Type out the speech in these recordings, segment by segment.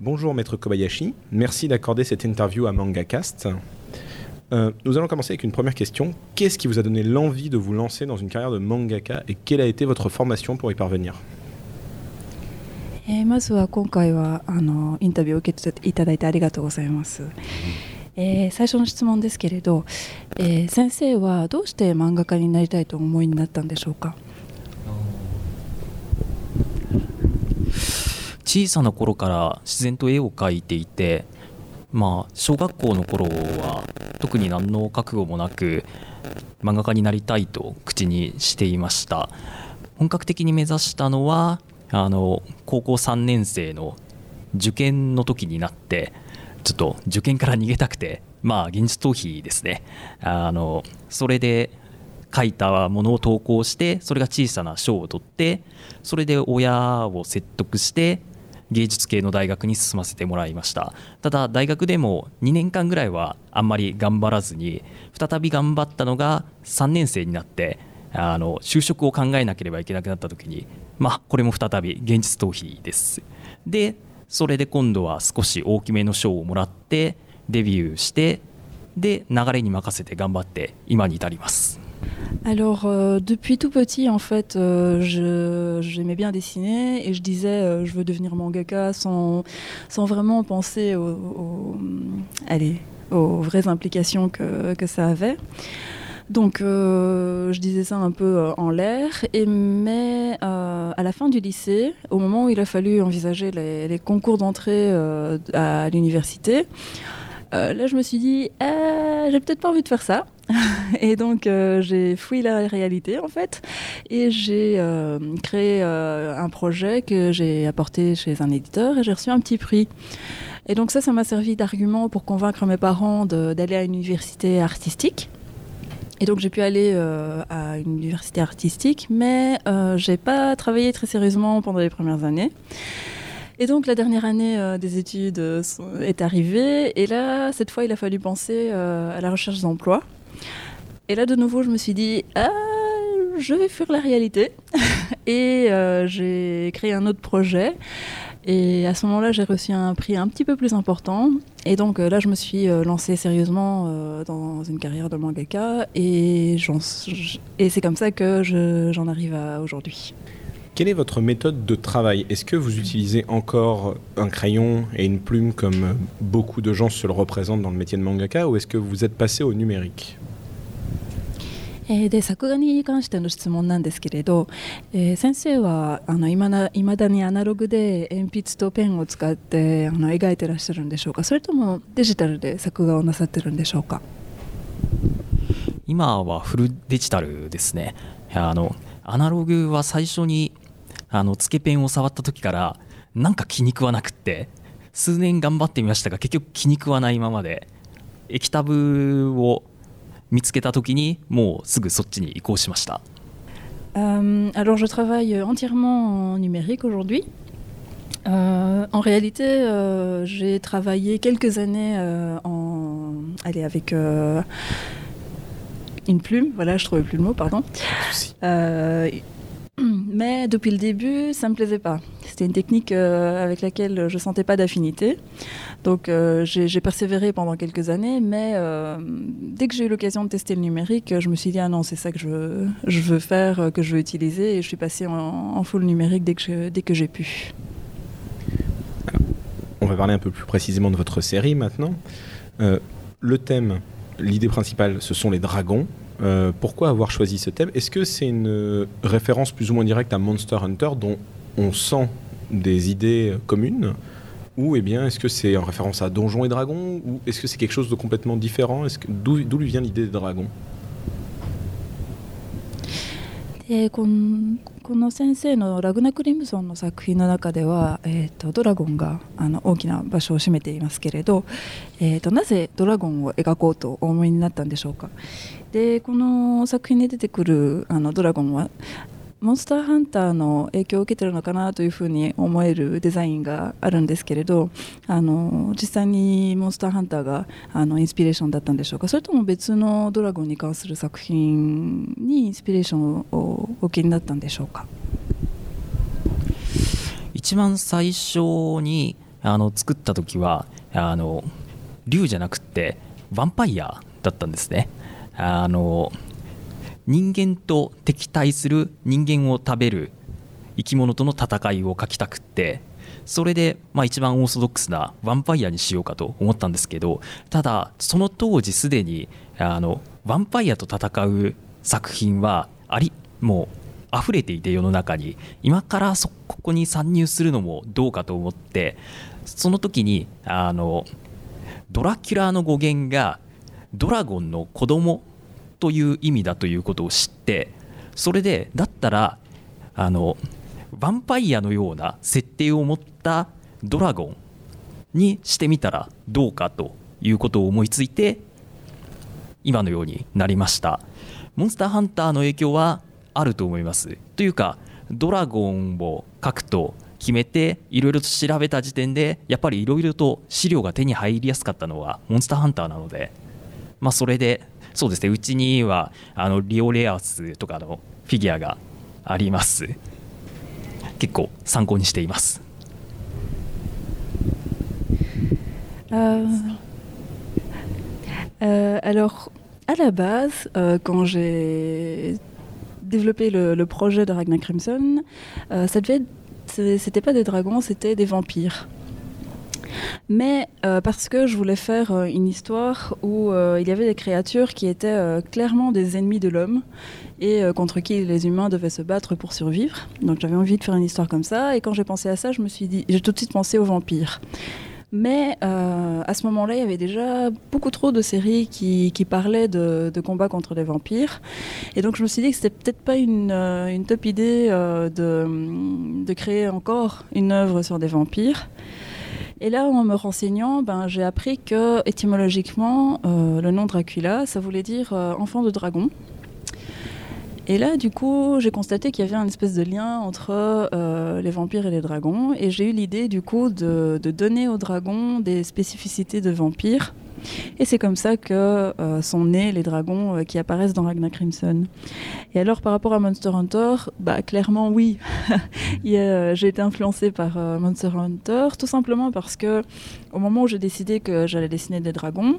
Bonjour Maître Kobayashi, merci d'accorder cette interview à MangaCast. Nous allons commencer avec une première question. Qu'est-ce qui vous a donné l'envie de vous lancer dans une carrière de mangaka et quelle a été votre formation pour y parvenir? まずは今回はインタビューを受けていただいてありがとうございます。最初の質問ですけれど、先生はどうして漫画家になりたいとお思いになったんでしょうか？ 小さな頃から自然と絵を描いていて、小学校の頃は特に何の覚悟もなく漫画家になりたいと口にしていました。本格的に目指したのは高校3年生の受験の時になって、ちょっと受験から逃げたくて、現実逃避ですね。それで書いたものを投稿して、それが小さな賞を取って、それで親を説得して芸術系の大学に進ませてもらいました。ただ大学でも2年間ぐらいはあんまり頑張らずに、再び頑張ったのが3年生になって就職を考えなければいけなくなった時に、これも再び現実逃避です。でそれで今度は少し大きめの賞をもらってデビューして、で流れに任せて頑張って今に至ります。 Alors, depuis tout petit, en fait, j'aimais bien dessiner et je disais je veux devenir mangaka sans vraiment penser aux vraies implications que ça avait. Donc, je disais ça un peu en l'air, mais à la fin du lycée, au moment où il a fallu envisager les concours d'entrée à l'université, là, je me suis dit, j'ai peut-être pas envie de faire ça. Et donc, j'ai fouillé la réalité, en fait, et j'ai créé un projet que j'ai apporté chez un éditeur et j'ai reçu un petit prix. Et donc ça m'a servi d'argument pour convaincre mes parents d'aller à une université artistique. Et donc j'ai pu aller à une université artistique, mais j'ai pas travaillé très sérieusement pendant les premières années. Et donc la dernière année des études est arrivée, et là, cette fois, il a fallu penser à la recherche d'emploi. Et là, de nouveau, je me suis dit, je vais fuir la réalité. Et j'ai créé un autre projet. Et à ce moment-là, j'ai reçu un prix un petit peu plus important. Et donc là, je me suis lancée sérieusement dans une carrière de mangaka. Et c'est comme ça que j'en arrive à aujourd'hui. Quelle est votre méthode de travail? Est-ce que vous utilisez encore un crayon et une plume comme beaucoup de gens se le représentent dans le métier de mangaka, ou est-ce que vous êtes passé au numérique? で作画に関しての質問なんですけれど、先生はいまだにアナログで鉛筆とペンを使って描いてらっしゃるんでしょうか？それともデジタルで作画をなさってるんでしょうか？ 今はフルデジタルですね。アナログは最初につけペンを触った時からなんか気に食わなくって、数年頑張ってみましたが結局気に食わないままで、液タブを見つけた時にもうすぐそっちに移行しました。 Alors je travaille entièrement en numérique aujourd'hui. En réalité, j'ai travaillé quelques années avec une plume. Voilà, je trouvais plus le mot, pardon. Mais depuis le début, ça me plaisait pas. C'était une technique avec laquelle je sentais pas d'affinité. Donc j'ai persévéré pendant quelques années, mais dès que j'ai eu l'occasion de tester le numérique, je me suis dit non, c'est ça que je veux faire, que je veux utiliser, et je suis passée en full numérique dès que j'ai pu. Alors, on va parler un peu plus précisément de votre série maintenant. Le thème, l'idée principale, ce sont les dragons. Pourquoi avoir choisi ce thème? Est-ce que c'est une référence plus ou moins directe à Monster Hunter, dont on sent des idées communes, ou bien est-ce que c'est en référence à Donjons et Dragons, ou est-ce que c'est quelque chose de complètement différent? D'où lui vient l'idée des dragons? この先生のラグナ・クリムソンの作品の中では、ドラゴンが大きな場所を占めていますけれど、なぜドラゴンを描こうとお思いになったんでしょうか？でこの作品に出てくるドラゴンはモンスターハンターの影響を受けてるのかなというふうに思えるデザインがあるんですけれど、実際にモンスターハンターがインスピレーションだったんでしょうか？それとも別のドラゴンに関する作品にインスピレーションをお受けになったんでしょうか？ 一番最初に作った時は竜じゃなくてヴァンパイアだったんですね。人間と敵対する人間を食べる生き物との戦いを描きたくって、それで一番オーソドックスなヴァンパイアにしようかと思ったんですけど、ただその当時すでにヴァンパイアと戦う作品はもう溢れていて、世の中に今からここに参入するのもどうかと思って、その時にドラキュラの語源がドラゴンの子供という意味だということを知って、それでだったらヴァンパイアのような設定を持ったドラゴンにしてみたらどうかということを思いついて今のようになりました。モンスターハンターの影響はあると思います。というかドラゴンを描くと決めていろいろと調べた時点でやっぱりいろいろと資料が手に入りやすかったのはモンスターハンターなので、それでそうですね、うちにはリオレアスとかのフィギュアがあります。結構参考にしています。 Alors, à la base, quand j'ai développé le projet de Ragnar Crimson, c'était pas des dragons, c'était des vampires. Mais parce que je voulais faire une histoire où il y avait des créatures qui étaient clairement des ennemis de l'homme et contre qui les humains devaient se battre pour survivre. Donc j'avais envie de faire une histoire comme ça, et quand j'ai pensé à ça, j'ai tout de suite pensé aux vampires. Mais à ce moment-là, il y avait déjà beaucoup trop de séries qui parlaient de combats contre les vampires. Et donc je me suis dit que c'était peut-être pas une top idée de créer encore une œuvre sur des vampires. Et là, en me renseignant, j'ai appris que, étymologiquement, le nom Dracula, ça voulait dire enfant de dragon. Et là, du coup, j'ai constaté qu'il y avait une espèce de lien entre les vampires et les dragons. Et j'ai eu l'idée, du coup, de donner aux dragons des spécificités de vampires. Et c'est comme ça que sont nés les dragons qui apparaissent dans Ragnar Crimson. Et alors, par rapport à Monster Hunter, clairement, oui. J'ai été influencée par Monster Hunter, tout simplement parce que, au moment où j'ai décidé que j'allais dessiner des dragons,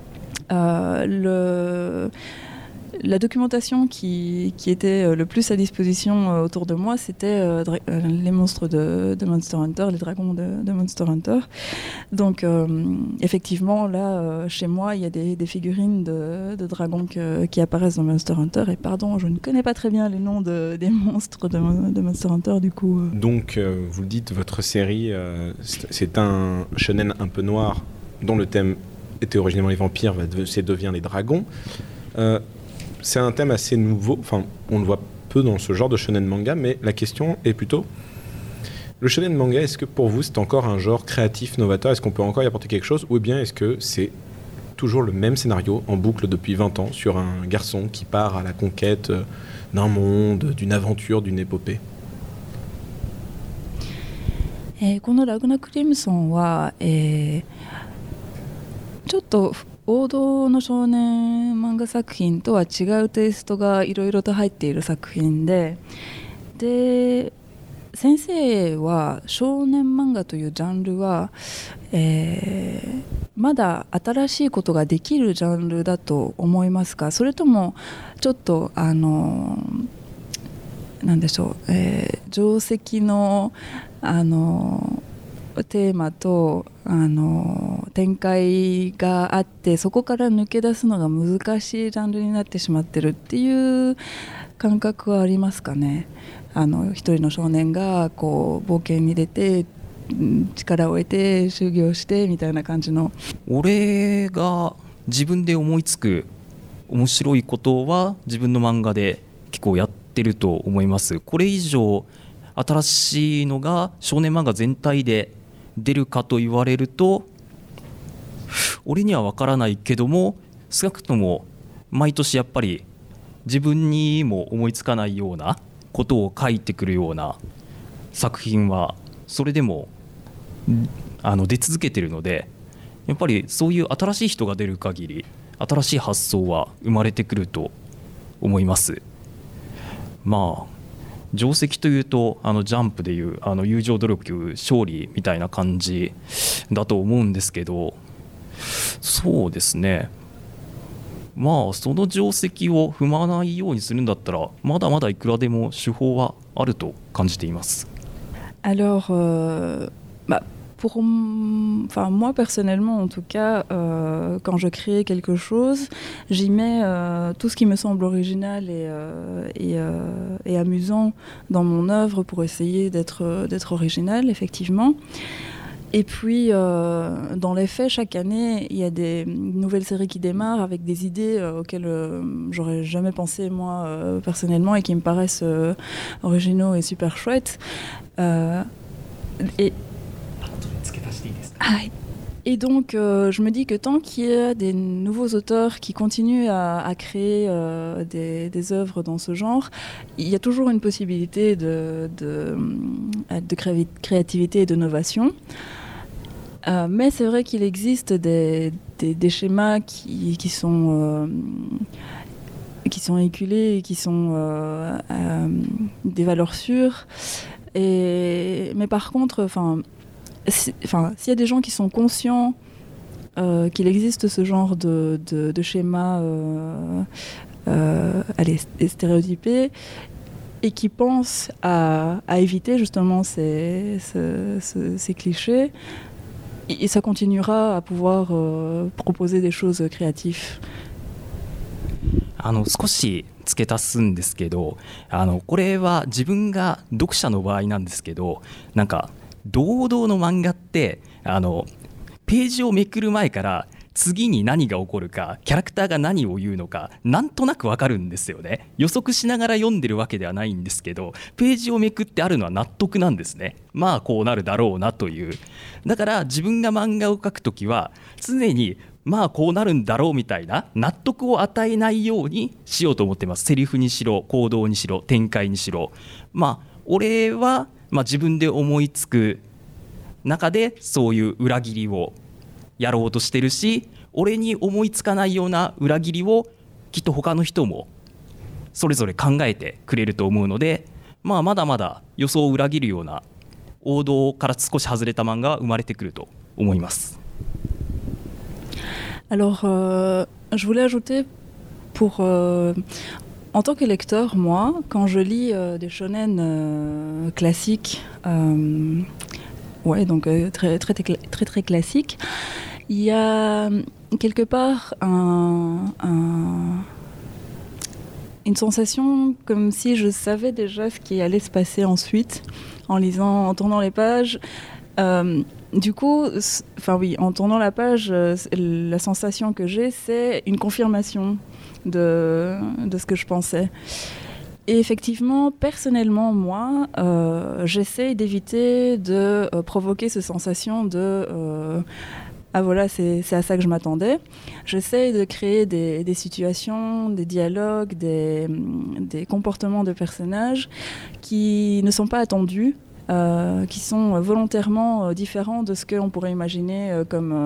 la documentation qui était le plus à disposition autour de moi, c'était les monstres de Monster Hunter, les dragons de Monster Hunter. Donc effectivement, là, chez moi, il y a des figurines de dragons qui apparaissent dans Monster Hunter. Et pardon, je ne connais pas très bien les noms des monstres de Monster Hunter, du coup. Donc, vous le dites, votre série, c'est un shonen un peu noir, dont le thème était originellement les vampires, devient les dragons. C'est un thème assez nouveau, on le voit peu dans ce genre de shonen manga, mais la question est plutôt, le shonen manga, est-ce que pour vous c'est encore un genre créatif, novateur, est-ce qu'on peut encore y apporter quelque chose, ou bien est-ce que c'est toujours le même scénario en boucle depuis 20 ans sur un garçon qui part à la conquête d'un monde, d'une aventure, d'une épopée? このラグナ・クリムソンは、ちょっと王道の少年漫画作品とは違うテイストがいろいろと入っている作品で、先生は少年漫画というジャンルは、まだ新しいことができるジャンルだと思いますか？それともちょっとなんでしょう、定石のテーマと展開があって、そこから抜け出すのが難しいジャンルになってしまってるっていう感覚はありますかね。一人の少年がこう冒険に出て力を得て修行してみたいな感じの。 俺が自分で思いつく面白いことは自分の漫画で結構やってると思います。これ以上新しいのが少年漫画全体で出るかと言われると俺には分からないけども、少なくとも毎年やっぱり自分にも思いつかないようなことを書いてくるような作品はそれでも出続けてるので、やっぱりそういう新しい人が出る限り新しい発想は生まれてくると思います。 定石というとジャンプでいう友情努力勝利みたいな感じだと思うんですけど、そうですね、まあその定石を踏まないようにするんだったらまだまだいくらでも手法はあると感じています。 Alors, enfin, moi personnellement en tout cas, quand je crée quelque chose, j'y mets tout ce qui me semble original et amusant dans mon œuvre pour essayer d'être original, effectivement. Et puis, dans les faits, chaque année, il y a des nouvelles séries qui démarrent avec des idées auxquelles j'aurais jamais pensé moi personnellement et qui me paraissent originaux et super chouettes. Et donc, je me dis que tant qu'il y a des nouveaux auteurs qui continuent à créer des œuvres dans ce genre, il y a toujours une possibilité de créativité et d'innovation. Mais c'est vrai qu'il existe des schémas qui sont éculés et qui sont des valeurs sûres. Mais par contre, s'il y a des gens qui sont conscients qu'il existe ce genre de schéma stéréotypé et qui pensent à éviter justement ces clichés, et ça continuera à pouvoir proposer des choses créatives. 少し付け足すんですけど、これは自分が読者の場合なんですけど、なんか堂々の漫画ってページをめくる前から次に何が起こるか、キャラクターが何を言うのかなんとなくわかるんですよね。予測しながら読んでるわけではないんですけど、ページをめくってあるのは納得なんですね。まあこうなるだろうなという。だから自分が漫画を描くときは常にまあこうなるんだろうみたいな納得を与えないようにしようと思ってます。セリフにしろ、行動にしろ、展開にしろ。まあ俺は自分で思いつく中でそういう裏切りをやろうとしてるし、俺に思いつかないような裏切りをきっと他の人もそれぞれ考えてくれると思うので、まだまだ予想を裏切るような王道から少し外れた漫画が生まれてくると思います。 Alors, je voulais ajouter en tant que lecteur, moi, quand je lis des shonen classiques, donc très classiques, il y a quelque part une sensation comme si je savais déjà ce qui allait se passer ensuite en tournant les pages. Du coup, en tournant la page, la sensation que j'ai, c'est une confirmation de ce que je pensais. Et effectivement, personnellement, moi, j'essaie d'éviter de provoquer cette sensation de ah voilà, c'est à ça que je m'attendais. J'essaie de créer des situations, des dialogues, des comportements de personnages qui ne sont pas attendus, qui sont volontairement différents de ce qu'on pourrait imaginer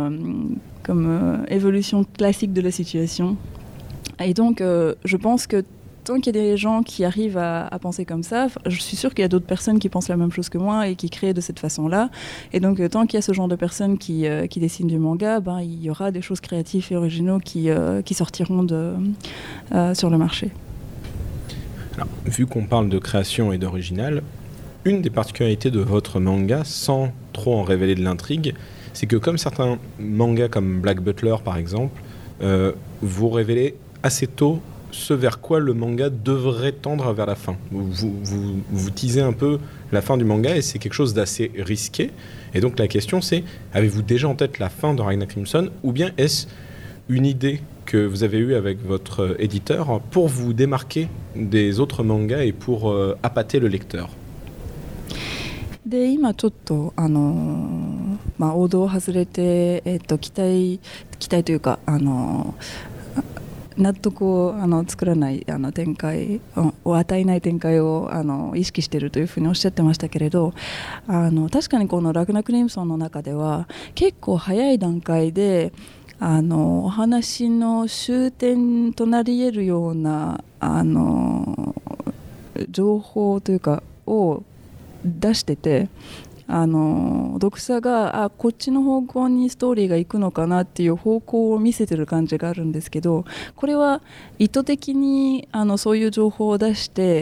comme évolution classique de la situation. Et donc, je pense que tant qu'il y a des gens qui arrivent à penser comme ça, je suis sûre qu'il y a d'autres personnes qui pensent la même chose que moi et qui créent de cette façon-là. Et donc, tant qu'il y a ce genre de personnes qui dessinent du manga, il y aura des choses créatives et originaux qui sortiront sur le marché. Alors, vu qu'on parle de création et d'original, une des particularités de votre manga, sans trop en révéler de l'intrigue, c'est que comme certains mangas comme Black Butler par exemple, vous révélez assez tôt ce vers quoi le manga devrait tendre vers la fin. Vous teasez un peu la fin du manga et c'est quelque chose d'assez risqué. Et donc la question c'est, avez-vous déjà en tête la fin de Ragnar Crimson ou bien est-ce une idée que vous avez eue avec votre éditeur pour vous démarquer des autres mangas et pour appâter le lecteur? で今ちょっと王道を外れて、期待というか納得を作らない展開を与えない展開を意識しているというふうにおっしゃってましたけれど、確かにこのラグナ・クリムソンの中では結構早い段階でお話の終点となり得るような情報というかを出してて、読者がこっちの方向にストーリーが行くのかなっていう方向を見せてる感じがあるんですけど、これは意図的にそういう情報を出して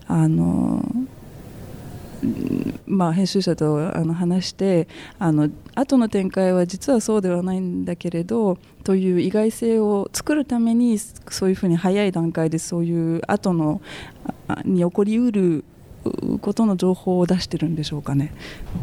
編集者と話して後の展開は実はそうではないんだけれどという意外性を作るために、そういうふうに早い段階でそういう後のに起こりうることの情報を出してるんでしょうかね。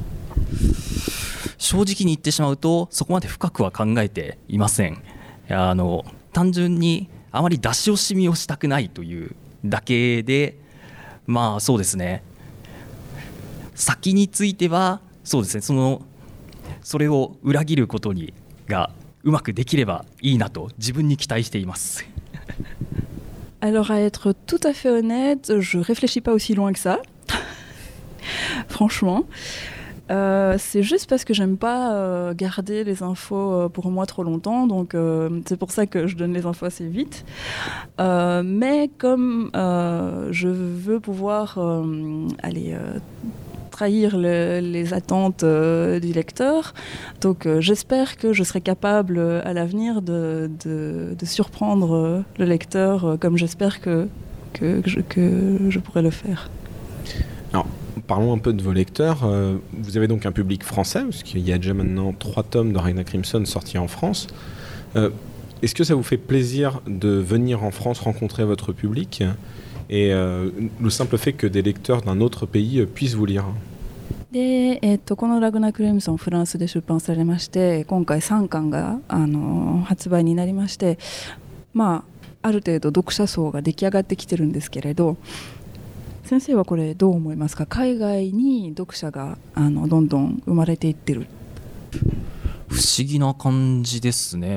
正直に言ってしまうとそこまで深くは考えていません。単純にあまり出し惜しみをしたくないというだけで、そうですね、先についてはそうですね、それを裏切ることがうまくできればいいなと自分に期待しています。 Alors à être tout à fait honnête, je réfléchis pas aussi loin que ça. Franchement. C'est juste parce que j'aime pas garder les infos pour moi trop longtemps, donc c'est pour ça que je donne les infos assez vite. Mais comme je veux pouvoir trahir les attentes du lecteur, donc j'espère que je serai capable à l'avenir de surprendre le lecteur comme j'espère que je pourrais le faire. Alors, parlons un peu de vos lecteurs. Vous avez donc un public français, parce qu'il y a déjà maintenant 3 tomes de Ragnar Crimson sortis en France. Est-ce que ça vous fait plaisir de venir en France rencontrer votre public et le simple fait que des lecteurs d'un autre pays puissent vous lire? でこのラグナー・クリムソンフランスで出版されまして、今回3巻が発売になりまして、ある程度読者層が出来上がってきてるんですけれど、先生はこれどう思いますか？海外に読者がどんどん生まれていってる。 不思議な感じですね。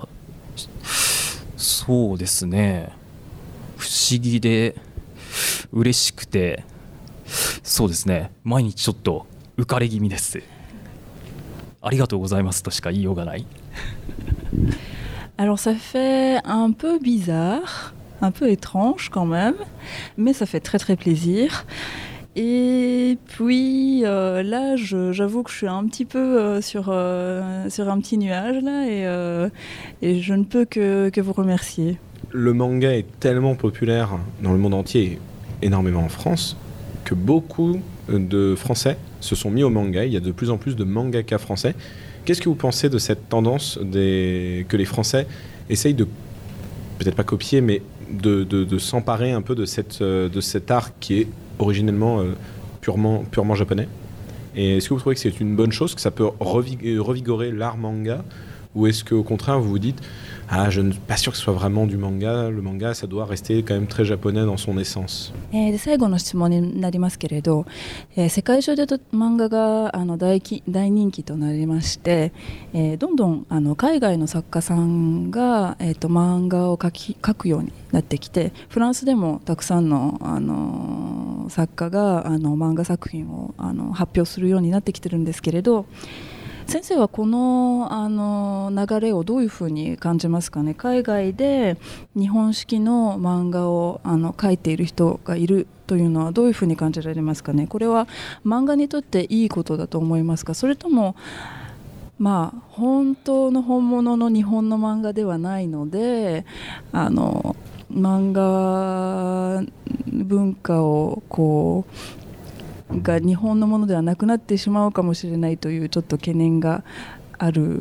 そうですね、不思議で嬉しくて、そうですね、毎日ちょっと浮かれ気味です。ありがとうございますとしか言いようがない。 Alors ça fait un peu bizarre, un peu étrange quand même, mais ça fait très très plaisir. Et puis là, j'avoue que je suis un petit peu sur un petit nuage là, et je ne peux que vous remercier. Le manga est tellement populaire dans le monde entier, énormément en France, que beaucoup de Français se sont mis au manga. Il y a de plus en plus de mangaka français. Qu'est-ce que vous pensez de cette tendance que les Français essayent de, peut-être pas copier, mais de s'emparer un peu de cet art qui est originellement purement japonais? Et est-ce que vous trouvez que c'est une bonne chose, que ça peut revigorer l'art manga, ou est-ce qu'au contraire vous vous dites je ne suis pas sûr que ce soit vraiment du manga, le manga ça doit rester quand même très japonais dans son essence? で最後の質問になりますけれど、世界中で漫画が大人気となりまして、どんどん海外の作家さんが、漫画を描くようになってきて、フランスでもたくさんの、作家が漫画作品を発表するようになってきてるんですけれど、先生はこの、流れをどういうふうに感じますかね？海外で日本式の漫画を描いている人がいるというのはどういうふうに感じられますかね？これは漫画にとっていいことだと思いますか？それとも本当の本物の日本の漫画ではないので、漫画文化をが日本のものではなくなってしまうかもしれないというちょっと懸念がある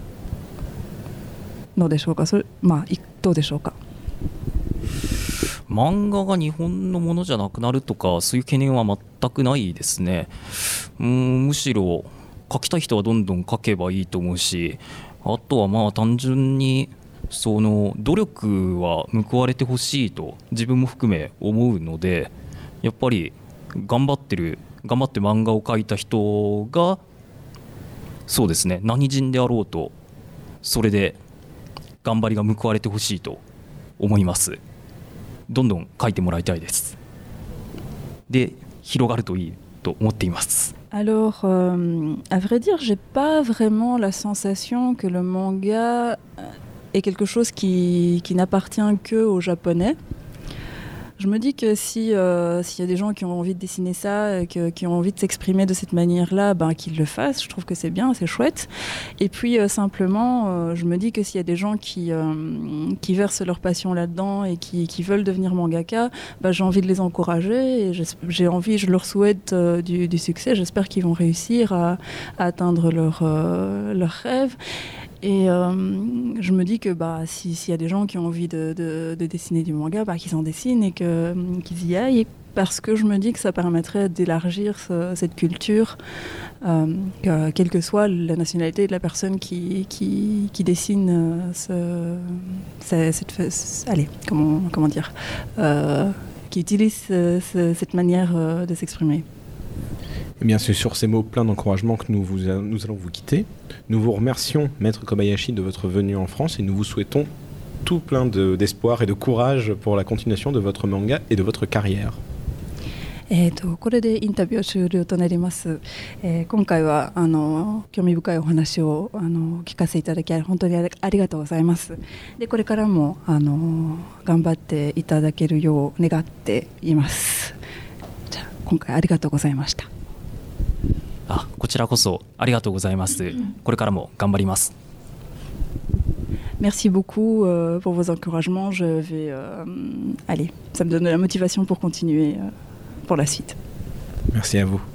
のでしょうか？どうでしょうか？ 漫画が日本のものじゃなくなるとかそういう懸念は全くないですね。むしろ描きたい人はどんどん描けばいいと思うし、あとは単純にその努力は報われてほしいと自分も含め思うので、やっぱり頑張って漫画を描いた人がそうですね、何人であろうとそれで頑張りが報われてほしいと思います。どんどん描いてもらいたいです。で広がるといいと思っています。 Alors, à vrai dire, j'ai pas vraiment la sensation que le manga est quelque chose qui n'appartient que aux Japonais. Je me dis que s'il y a des gens qui ont envie de dessiner ça, qui ont envie de s'exprimer de cette manière-là, qu'ils le fassent. Je trouve que c'est bien, c'est chouette. Et puis simplement, je me dis que s'il y a des gens qui versent leur passion là-dedans et qui veulent devenir mangaka, j'ai envie de les encourager et je leur souhaite du succès. J'espère qu'ils vont réussir à atteindre leur rêve. Et je me dis que s'il y a des gens qui ont envie de dessiner du manga, qu'ils en dessinent et qu'ils y aillent, parce que je me dis que ça permettrait d'élargir cette culture, quelle que soit la nationalité de la personne qui dessine qui utilise cette manière de s'exprimer. Eh bien, c'est sur ces mots pleins d'encouragement que nous allons vous quitter. Nous vous remercions, Maître Kobayashi, de votre venue en France et nous vous souhaitons tout plein d'espoir et de courage pour la continuation de votre manga et de votre carrière. これでインタビュー終了となります。今回は興味深いお話を聞かせていただき本当にありがとうございます。でこれからも頑張っていただけるよう願っています。じゃあ今回ありがとうございました。 こちらこそありがとうございます。これからも頑張ります。 Merci beaucoup pour vos encouragements. Je vais ça me donne de la motivation pour continuer pour la suite. Merci à vous.